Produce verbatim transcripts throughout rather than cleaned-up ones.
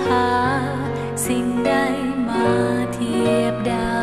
าสิ่งใดมาเทียบได้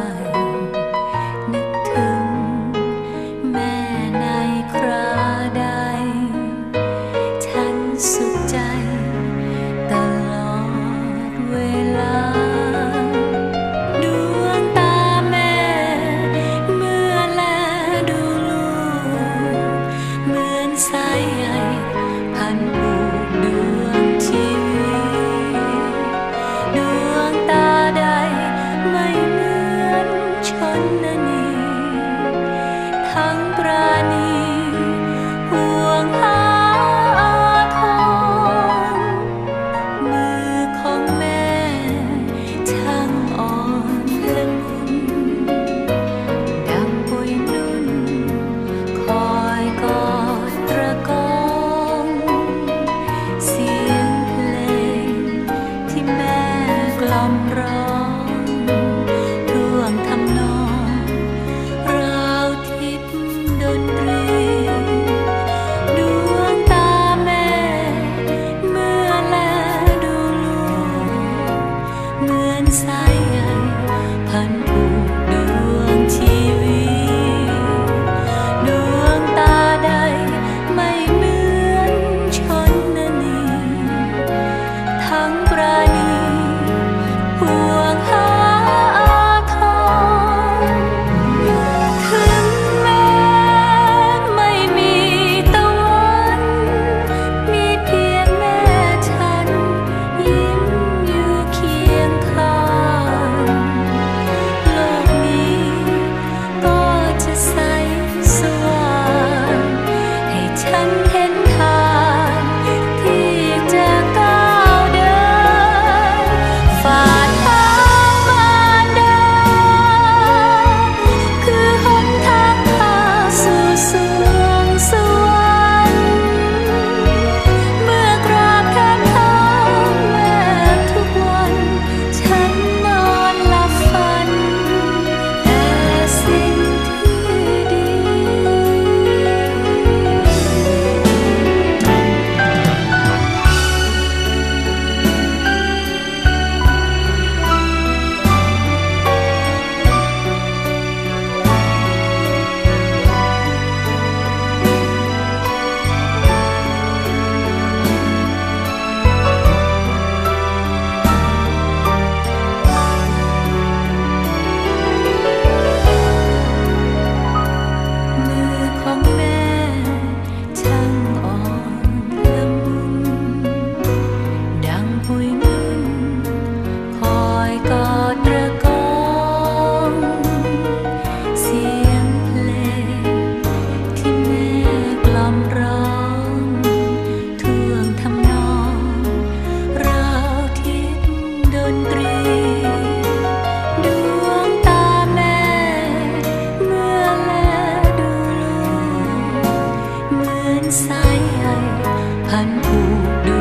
นึกถึงแม่ในคราใดฉันสุขใจตลอดเวลาดวงตาแม่เมื่อแลดูลูกเหมือนสายใยพันผูกดวงชีวิตดวงตาใดไม่เหมือนชนนีทั้งปราณีห่วงหาอาทรมือของแม่ช่างอ่อนละมุนดังปุยนุ่นคอยกอดตระกองเสียงเพลงที่แม่กล่อมร้องท่วงทำนองราวทิพย์ดนตรีดวงตาแม่เมื่อแลดูลูกเหมือนสายใยพันผูกดวงชีวิตดวงตาใดไม่เหมือนชนนีทั้งปราณีห่วงหาอาทรถึงแม้ไม่มีตะวันมีเพียงแม่ฉันยิ้มอยู่เคียงข้างโลกนี้ก็จะใสสว่างให้ฉันเห็นทางที่จะก้าวเดินฝ่าทางมารดาคือหนทางพาสู่สวงสวรรค์เมื่อกราบแทบเท้าแม่ทุกวันฉันนอนหลับฝันแต่สิ่งที่ดี มือของแม่ช่างอ่อนละมุนดังปุยนุ่นคอยกอดตระกองเสียงเพลงที่แม่กล่อมร้องท่วงทำนองราวทิพย์ดนตรีดวงตาแม่เมื่อแลดูลูกเหมือนสายใยพันผูกด